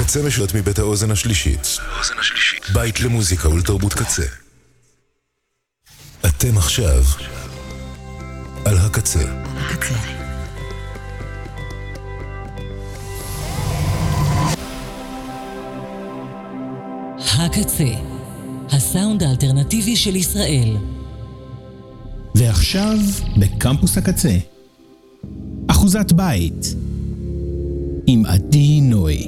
הקצה משוט מבית האוזן השלישית. בית למוזיקה ולתרבות קצה. אתם עכשיו על הקצה. הקצה, הסאונד האלטרנטיבי של ישראל. ועכשיו בקמפוס הקצה, אחוזת בית עם עדי נוי.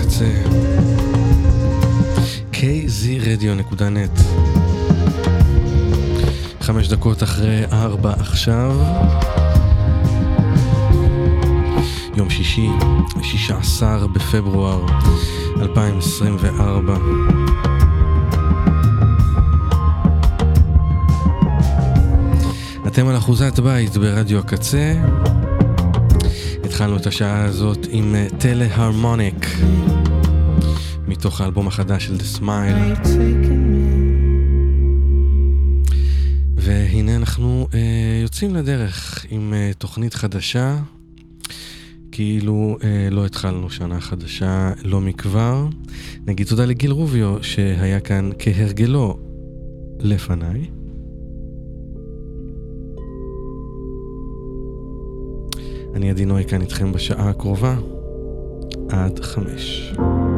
kzradio.net 5 דקות אחרי 4 עכשיו. יום שישי, 16 בפברואר 2024. אתם על אחוזת בית ברדיו הקצה. התחלנו את השעה הזאת עם טלה-הרמוניק מתוך האלבום החדש של The Smile. והנה אנחנו יוצאים לדרך עם תוכנית חדשה, כאילו לא התחלנו שנה חדשה לא מכבר. נגיד תודה לגיל רוביו שהיה כאן כהרגלו לפניי. אני עדי נוי כאן איתכם בשעה הקרובה עד 5.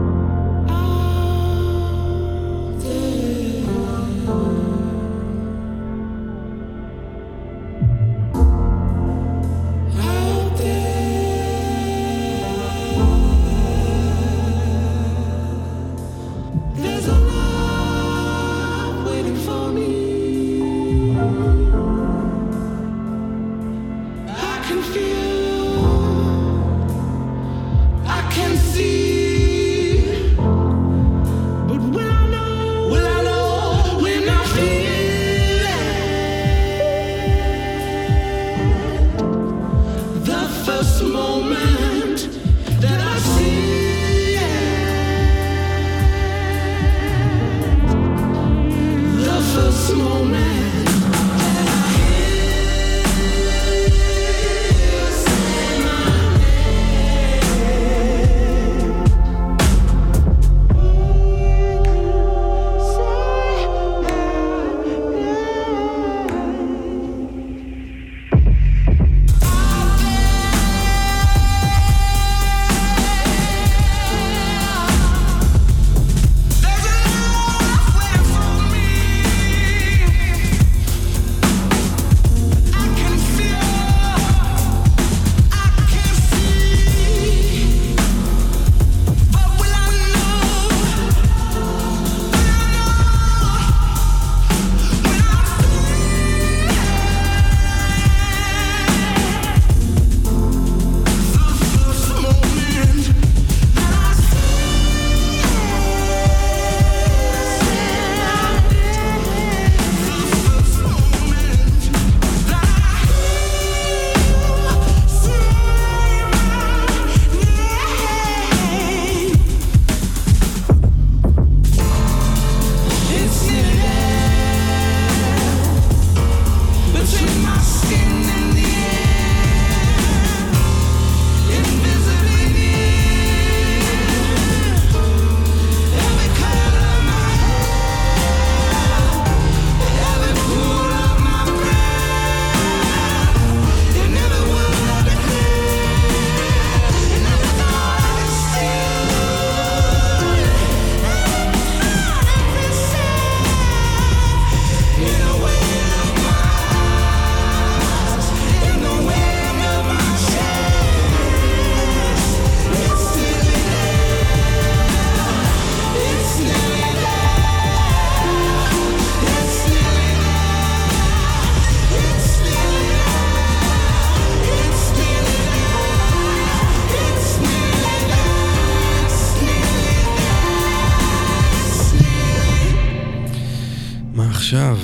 עכשיו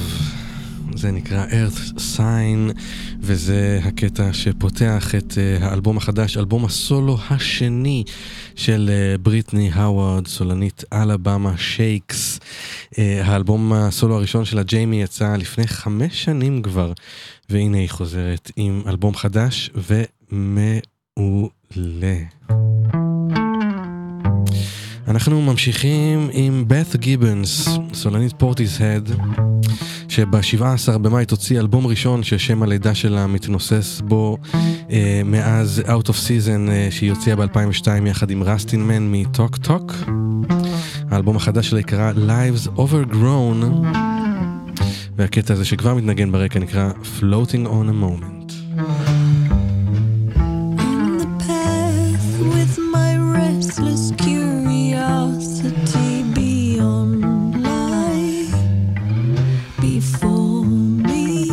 זה נקרא Earth Sign, וזה הקטע שפותח את האלבום החדש, אלבום הסולו השני של בריטני האוורד, סולנית אלבמה שייקס. האלבום הסולו הראשון שלה, ג'יימי, יצא לפני 5 שנים כבר, והנה היא חוזרת עם אלבום חדש ומעולה. אנחנו ממשיכים עם בת גיבנס, סולנית פורטיסהד, שב-17 במאי תוציא אלבום ראשון ששם הלידה שלה מתנוסס בו מאז Out of Season שהיא הוציאה ב-2002 יחד עם רסטין מן מטוק טוק. האלבום החדש שלה יקרא Lives Overgrown, והקטע הזה שכבר מתנגן ברקע נקרא Floating on a Moment. Beyond life before me.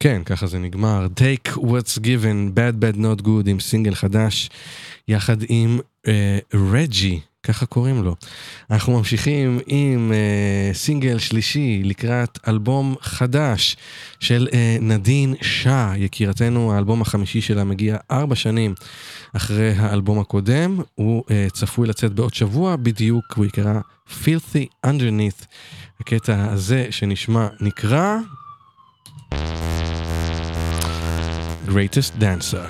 כן, ככה זה נגמר. Take What's Given, Bad Bad Not Good, עם סינגל חדש, יחד עם רג'י, ככה קוראים לו. אנחנו ממשיכים עם סינגל שלישי לקראת אלבום חדש של נדין שאה, יקירתנו. האלבום החמישי שלה מגיע 4 שנים אחרי האלבום הקודם. הוא צפוי לצאת בעוד שבוע בדיוק, הוא יקרא Filthy Underneath. הקטע הזה שנשמע נקרא Greatest Dancer.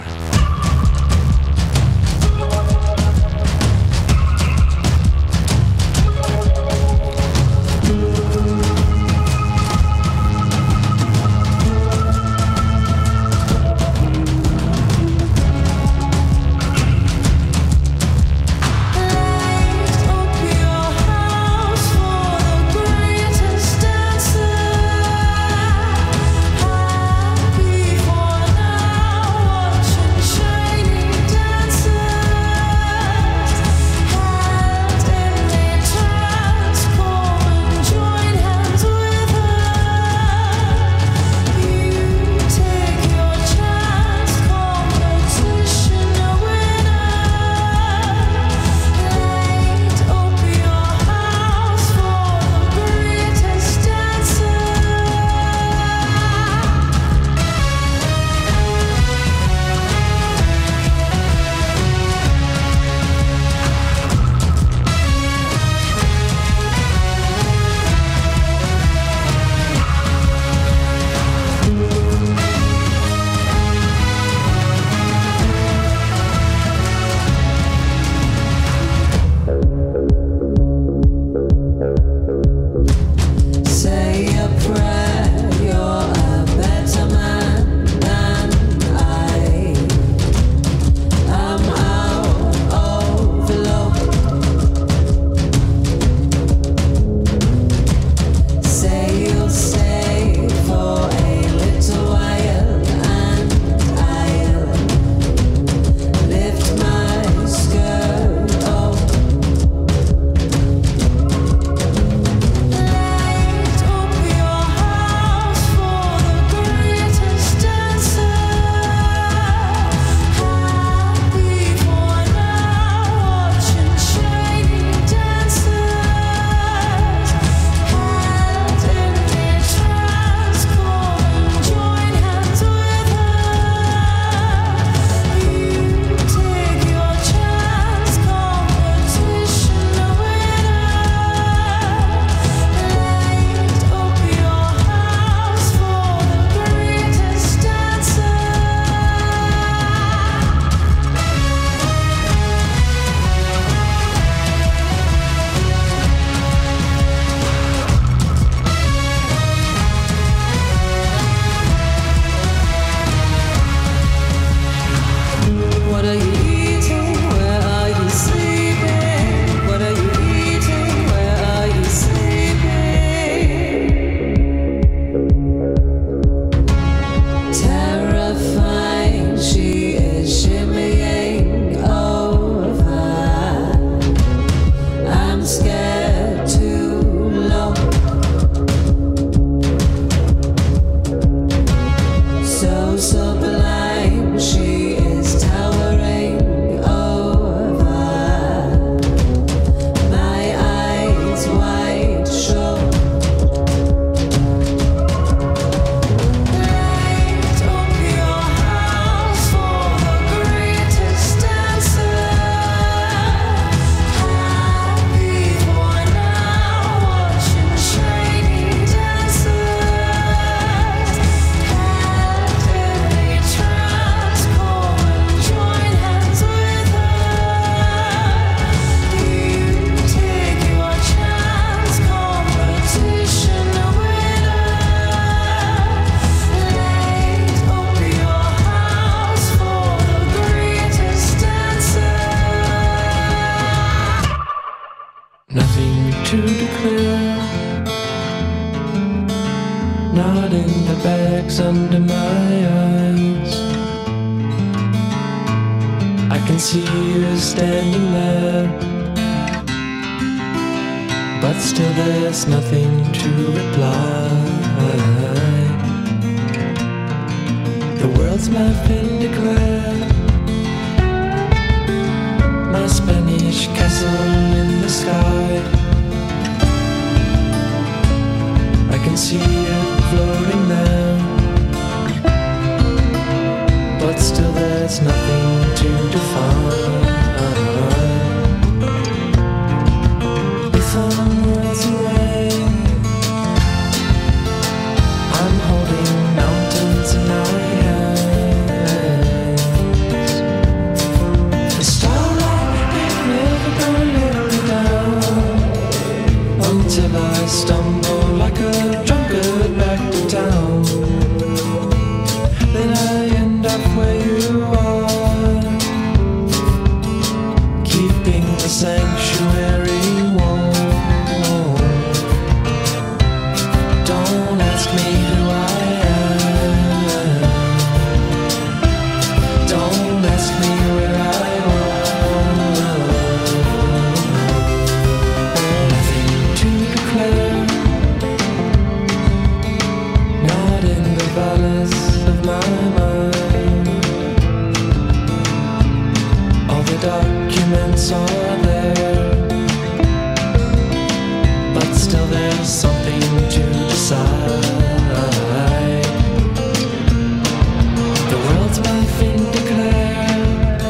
to declare, not in the bags under my eyes. I can see you standing there, but still there's nothing to reply. world's my fin declare. My Spanish castle in the sky, I can see it floating there, but still there's nothing to define. If I'm worlds away, I'm holding mountains in my hands. The starlight ain't never gonna let me down, until I stumble like a drunkard back to town. Then I end up where you are, keeping the sanctuary warm. Don't ask me who I am, don't ask me where I was. Nothing to declare, not in the valleys of my mind. All the documents are there, but still there's something to decide. The world's my fin declare,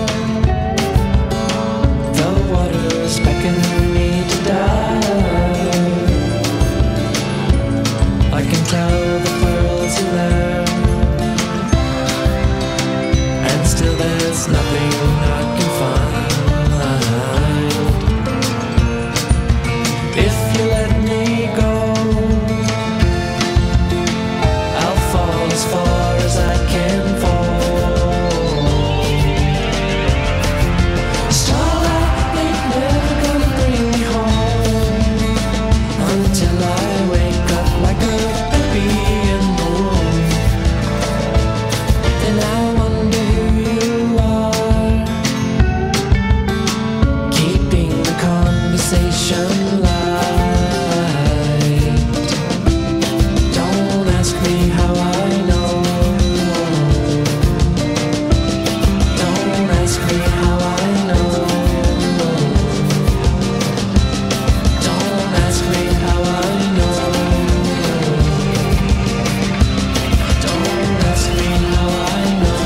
the water's beckoning me to die. I can tell the pearls in there, and still there's nothing I can find. If you let me go, I'll fall as far as I can fall. Starlight ain't never gonna bring me home, until I wake up like a baby in the womb. Then I wonder who you are, keeping the conversation light. Don't ask me how I know, don't ask me how I know, don't ask me how I know, don't ask me how I know,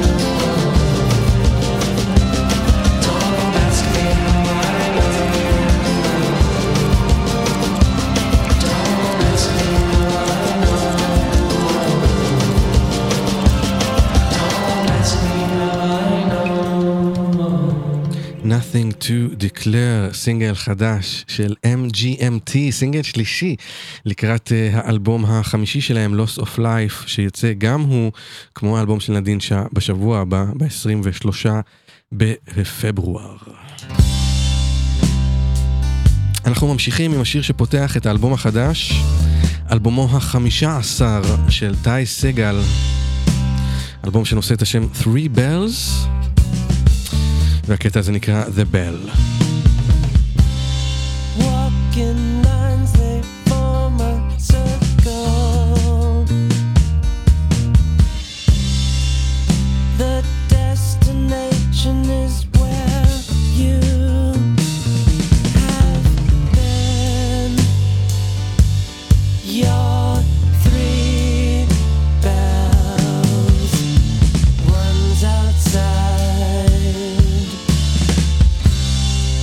don't ask me how I know, don't ask me how I know, don't ask me how I know. Nothing to declare, סינגל חדש של MGMT, סינגל שלישי לקראת האלבום החמישי שלהם, Loss of Life, שיצא גם הוא, כמו האלבום של נדין בשבוע הבא, ב-23 בפברואר. אנחנו ממשיכים עם השיר שפותח את האלבום החדש, אלבומו ה-15 של טי סגל, אלבום שנושא את השם Three Bells, והקטע הזה נקרא The Bell. Walking lines, they form a circle. The destination is where you have been. Your three bells, one's outside,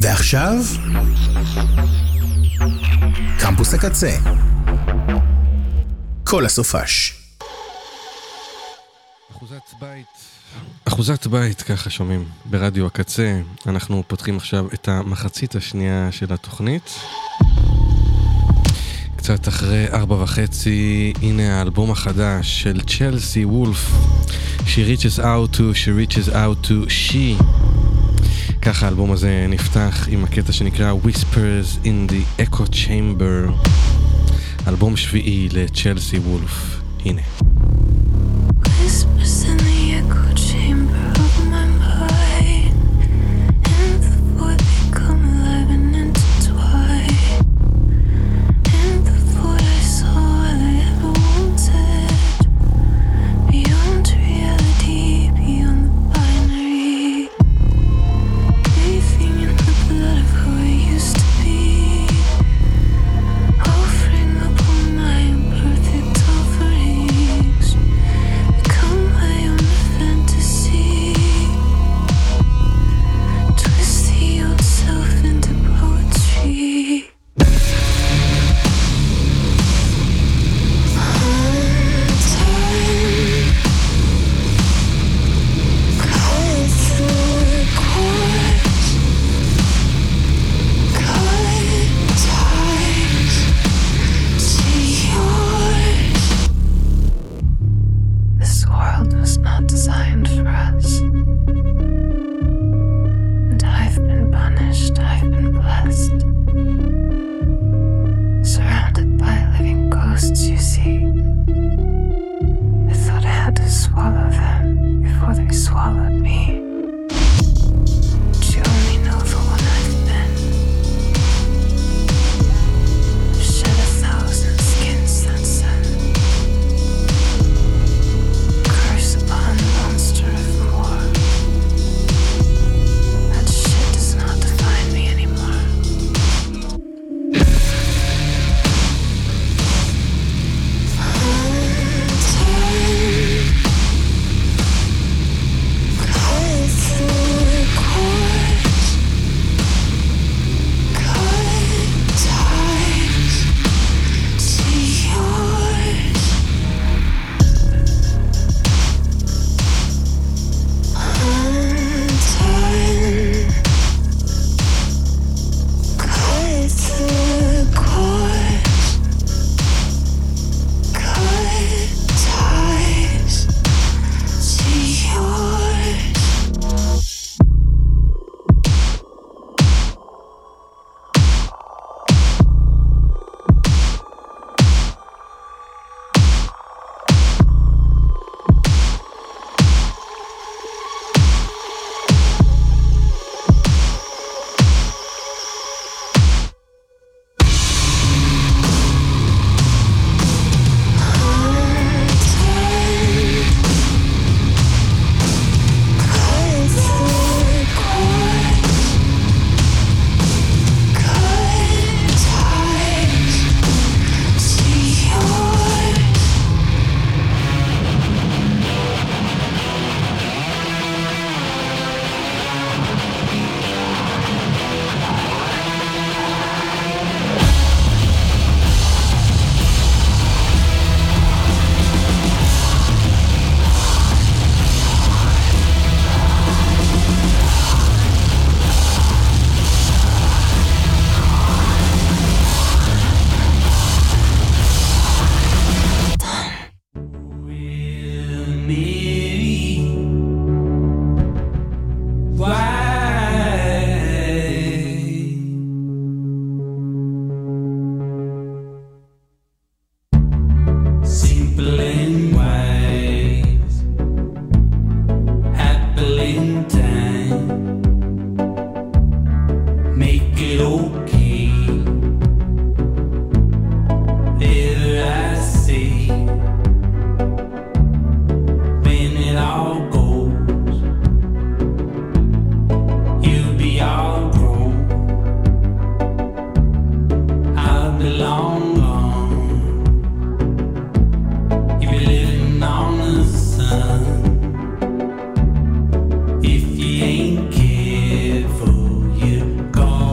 ועכשיו, קמפוס הקצה. כל הסופש. אחוזת בית, ככה שומעים ברדיו הקצה. אנחנו פותחים עכשיו את המחצית השנייה של התוכנית. קצת אחרי 4:30, הנה האלבום החדש של צ'לסי וולף. She reaches out to she. ככה האלבום הזה נפתח עם הקטע שנקרא Whispers in the Echo Chamber. אלבום שביעי לצ'לסי וולף. הנה. Whispers in the echo chamber of my mind, and before they come alive and intertwine, and before I saw all I ever wanted, beyond reality, beyond the binary, bathing in the blood of who I used to be, offering up all my imperfect offerings. Become my own fantasy. Twist the old self into poetry. This world was not designed for us. And I've been punished, I've been blessed. Surrounded by living ghosts, you see. I thought I had to swallow them before they swallowed me. But you only know the one I've been. I've shed 1,000 skins since then. Curse upon monster of more. That shit does not define me anymore. If you ain't careful, you're gone.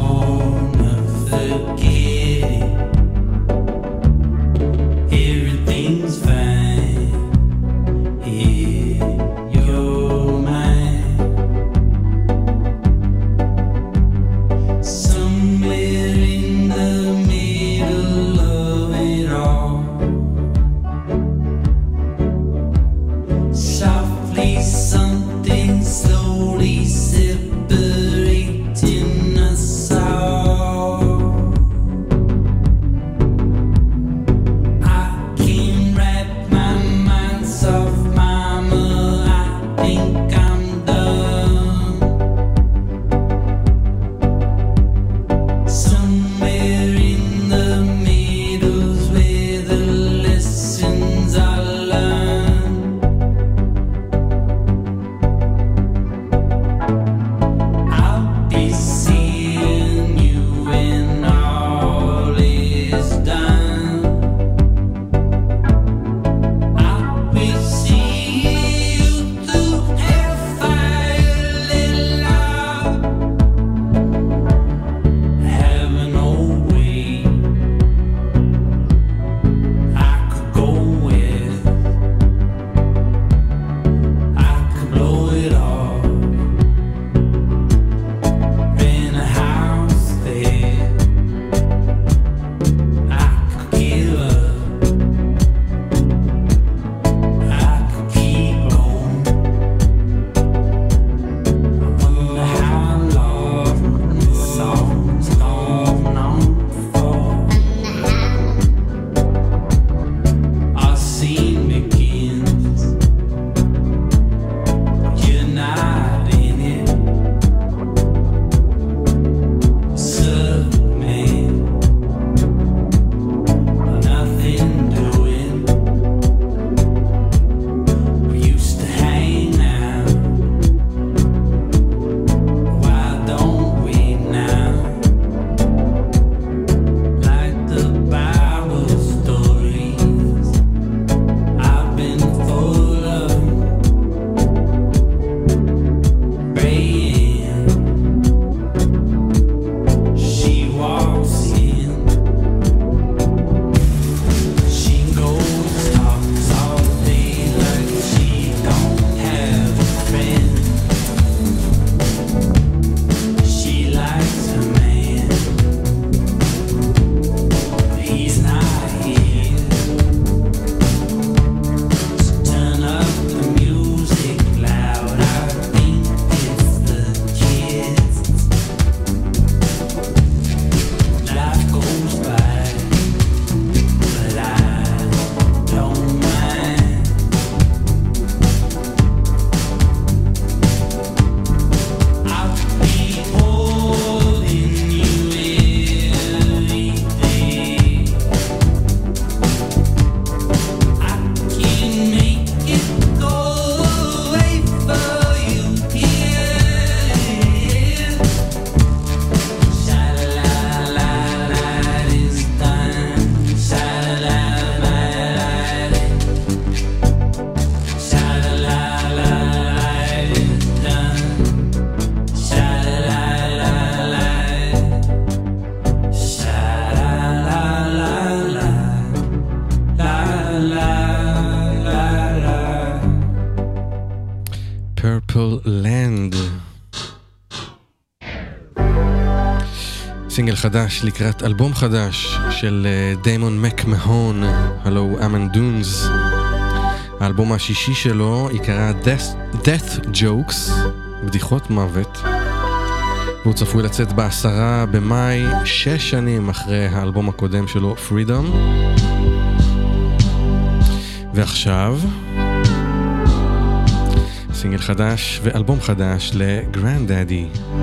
Beautiful Land. סינגל חדש לקראת אלבום חדש של דיימון מקמהון, הלו אמן דונס. האלבום השישי שלו יקרא Death Jokes, בדיחות מוות. והוא צפוי לצאת ב10 במאי, 6 שנים אחרי האלבום הקודם שלו, Freedom. ועכשיו סינגל חדש ואלבום חדש לגרנדדדי.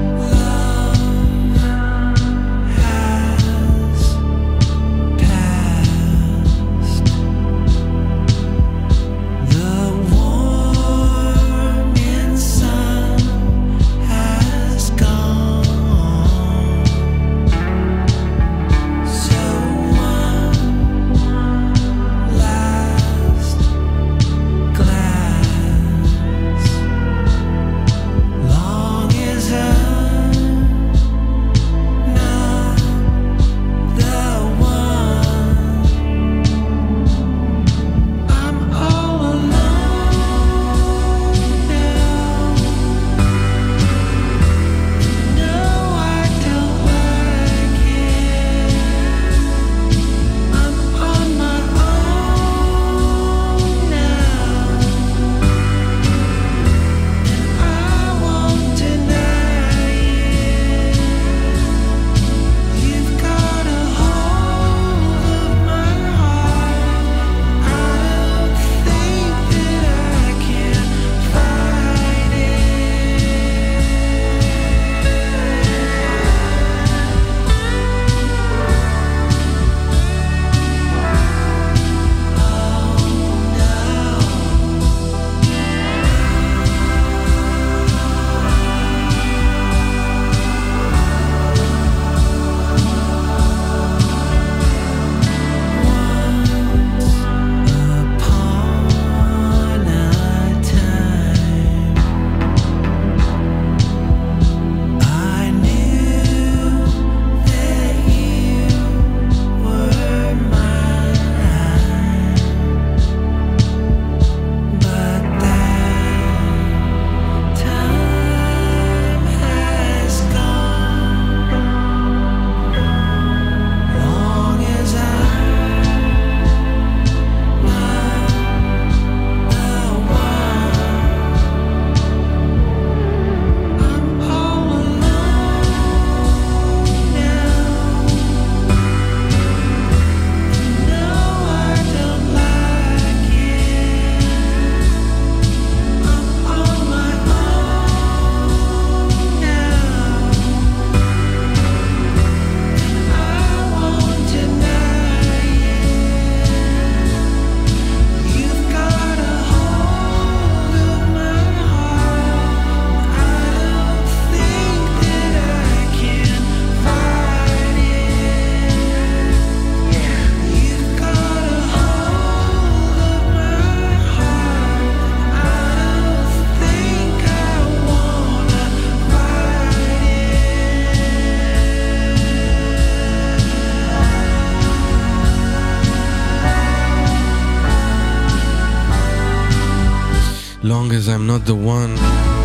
Long as I'm not the one,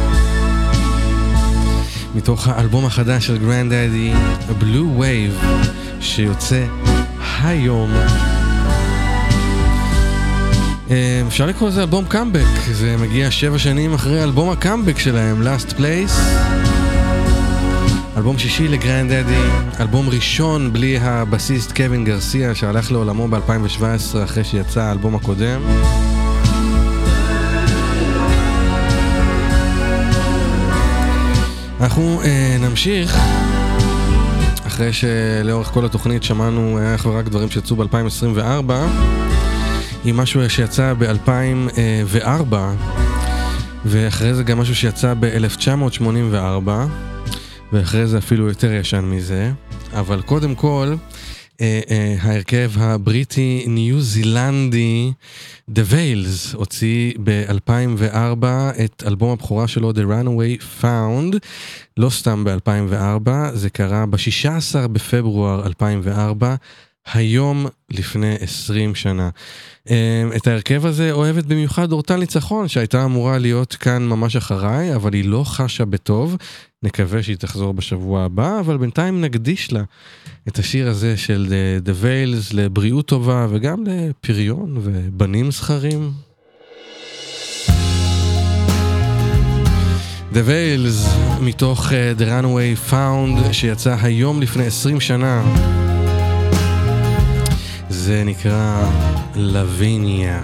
מתוך האלבום החדש של גרנדדדי, Blue Wave, שיוצא היום. אפשר לקרוא לזה אלבום קאמבק, זה מגיע 7 שנים אחרי אלבום הקאמבק שלהם, Last Place. אלבום שישי לגרנדדדי, אלבום ראשון בלי הבסיסט קווין גרסיה שהלך לעולמו ב-2017 אחרי שיצא האלבום הקודם. אנחנו נמשיך, אחרי שלאורך כל התוכנית שמענו אך ורק דברים שיצאו ב-2024, עם משהו שיצא ב-2004, ואחרי זה גם משהו שיצא ב-1984, ואחרי זה אפילו יותר ישן מזה. אבל קודם כל, ההרכב הבריטי ניו זילנדי The Veils הוציא ב-2004 את אלבום הבכורה שלו The Runaway Found, לא סתם ב-2004, זה קרה ב-16 בפברואר 2004, היום לפני 20 שנה. את ההרכב הזה אוהבת במיוחד אורטל ניצחון, שהייתה אמורה להיות כאן ממש אחריי, אבל היא לא חשה בטוב. נקווה שהיא תחזור בשבוע הבא, אבל בינתיים נקדיש לה את השיר הזה של The Veils לבריאות טובה, וגם לפריון ובנים זכרים. The Veils מתוך The Runaway Found שיצא היום לפני 20 שנה. זה נקרא לוויניה.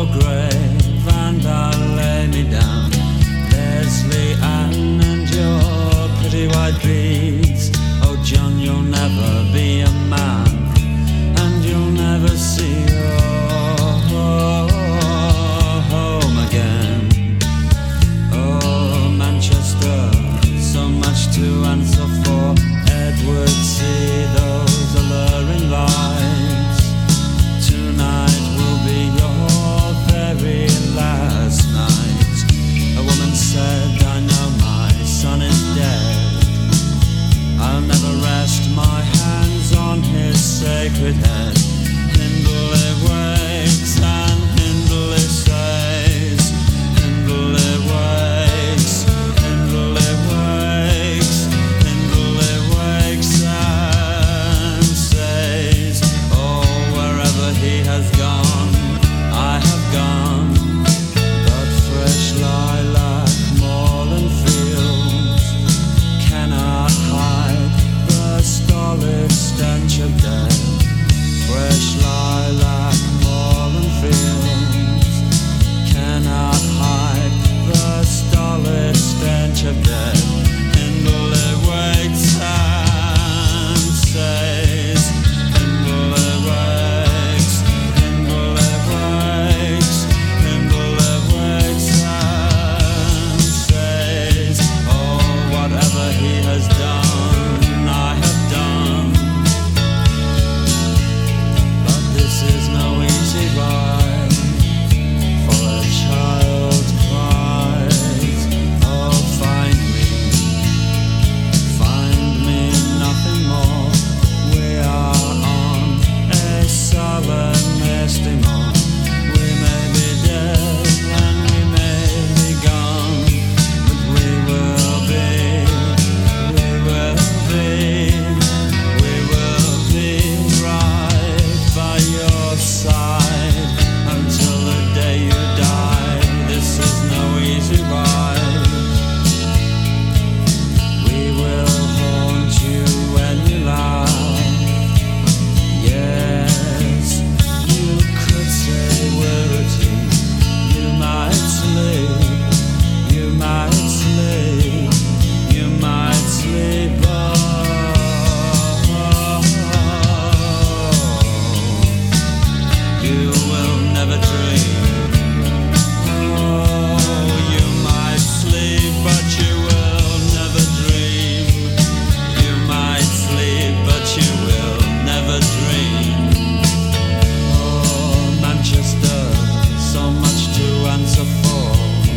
grave and I'll lay me down. Leslie Ann and your pretty white beads. Oh John, you'll never be a man, and you'll never see your home again. Oh Manchester, so much to answer for. Edward, see those alluring lights. Tonight will be your very last night. A woman said, I know my son is dead. I'll never rest my hands on his sacred head. Hindley wakes and Hindley says, Hindley wakes, Hindley wakes, Hindley wakes and says, oh, wherever he has gone, I have gone. But fresh lilac, moorland fields cannot hide the stolid stench of death. Fresh lilac, moorland fields cannot hide the stolid stench of death. Hindley waits and says, Hindley wakes, Hindley wakes, Hindley wakes and says, oh, whatever he has done, I have done. But this is no easy ride, for a child cries, oh, find me nothing more. We are on a solemn estimate. We may be dead and we may be gone, but we will be, we will be, we will be right by your side until the day you die. This is no easy ride. We will haunt you when you laugh. Yes, you could say we're a team. You might sleep, you might sleep, you might sleep. You will never dream. Oh, you might sleep, but you will never dream. You might sleep, but you will never dream. Oh, Manchester, so much to answer for.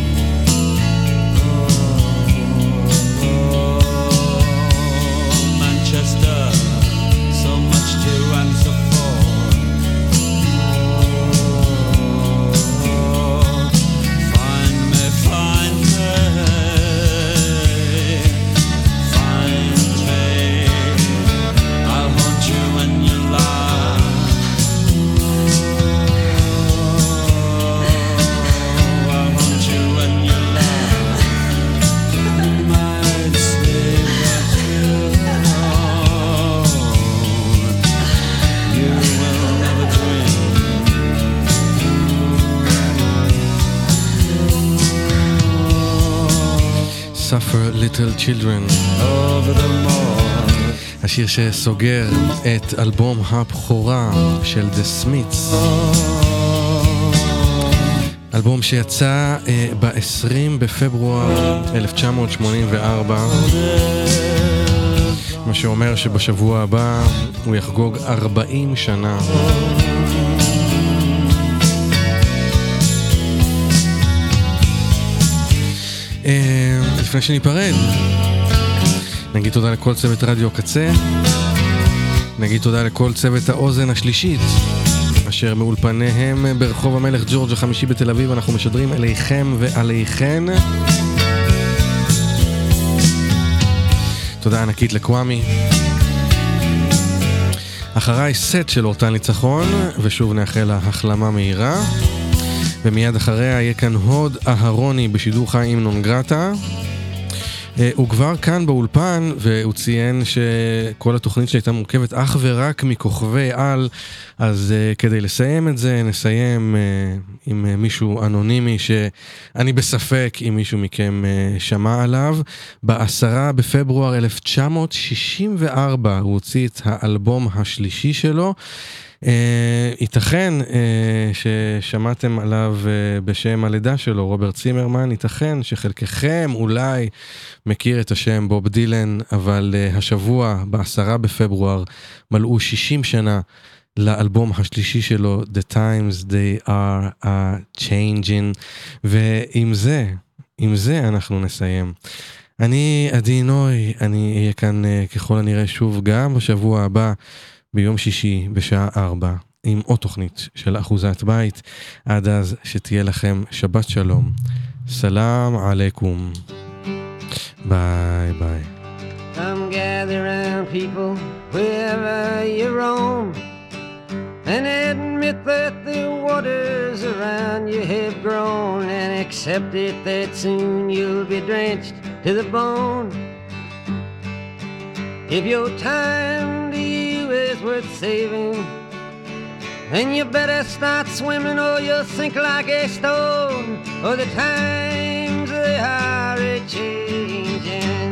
Oh, Manchester, so much to answer for. Find me, find me, find me. I'll haunt you when you lie. I'll haunt you when you lie. You might sleep, but you will never dream. Suffer Little Children, Over the moor. השיר שסוגר את אלבום הבכורה של The Smiths, אלבום שיצא ב-20 בפברואר 1984, מה שאומר שבשבוע הבא הוא יחגוג 40 שנה. לפני שניפרד, נגיד תודה לכל צוות רדיו קצה, נגיד תודה לכל צוות האוזן השלישית, אשר מאולפניהם ברחוב המלך ג'ורג' החמישי בתל אביב. אנחנו משדרים אליכם ועליכן. תודה ענקית לקוואמי. אחריי סט של אורטל ניצחון, ושוב נאחל לה החלמה מהירה. ומיד אחריה יהיה כאן הוד אהרוני בשידור חי עם נונגרטה. הוא כבר כאן באולפן, והוא ציין שכל התוכנית שהייתה מורכבת אך ורק מכוכבי על, אז כדי לסיים את זה, נסיים עם מישהו אנונימי שאני בספק אם מישהו מכם שמע עליו. ב10 בפברואר 1964 הוא הוציא את האלבום השלישי שלו, ייתכן ששמעתם עליו בשם הלידה שלו, רוברט צימרמן. ייתכן שחלקכם אולי מכיר את השם בוב דילן, אבל השבוע ב10 בפברואר מלאו 60 שנה לאלבום השלישי שלו, The Times They Are Changing, ועם זה אנחנו נסיים. אני עדי נוי, אני אהיה כאן ככל הנראה שוב גם בשבוע הבא, ביום שישי בשעה 4, עם עוד תוכנית של אחוזת בית. עד אז שתהיה לכם שבת שלום. סלام עליכום. ביי ביי. Come gather round people wherever you roam, and admit that the waters around you have grown, and accept it that soon you'll be drenched to the bone. If your time to you is worth saving, then you better start swimming or you'll sink like a stone, or the times they are a-changing.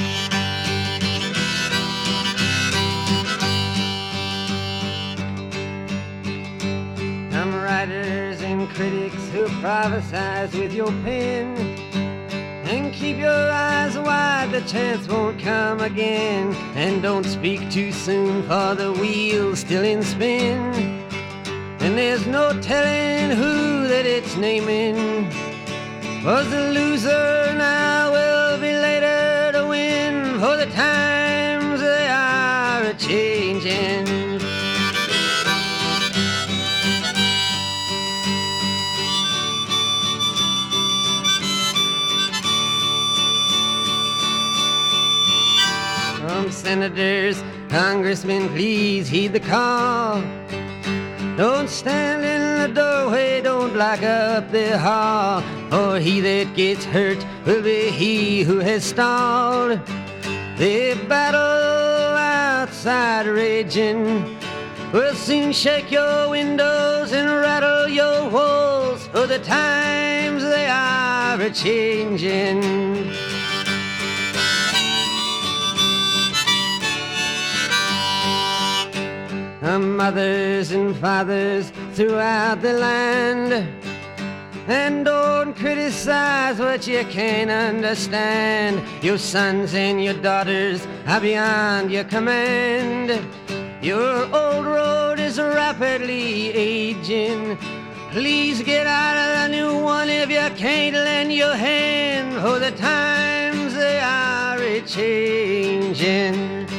Some writers and critics who prophesize with your pen, and keep your eyes wide, the chance won't come again. And don't speak too soon, for the wheel's still in spin, and there's no telling who that it's naming. Was the loser now will be later to win, for the times they are a-changing. Senators, congressmen, please heed the call. Don't stand in the doorway, don't block up the hall, for he that gets hurt will be he who has stalled. The battle outside raging will soon shake your windows and rattle your walls, for the times they are a-changing. Mothers and fathers throughout the land, and don't criticize what you can't understand. Your sons and your daughters are beyond your command. Your old road is rapidly aging. Please get out of the new one if you can't lend your hand, for the times they are a-changing.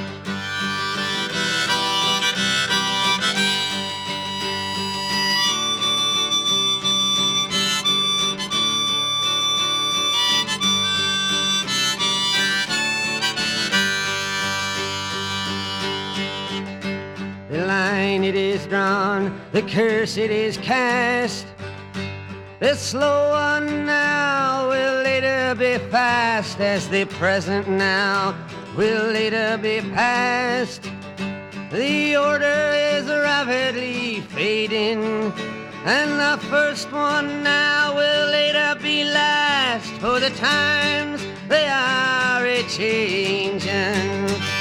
It is drawn, the curse it is cast. The slow one now will later be fast, as the present now will later be past. The order is rapidly fading, and the first one now will later be last, for the times they are a-changing.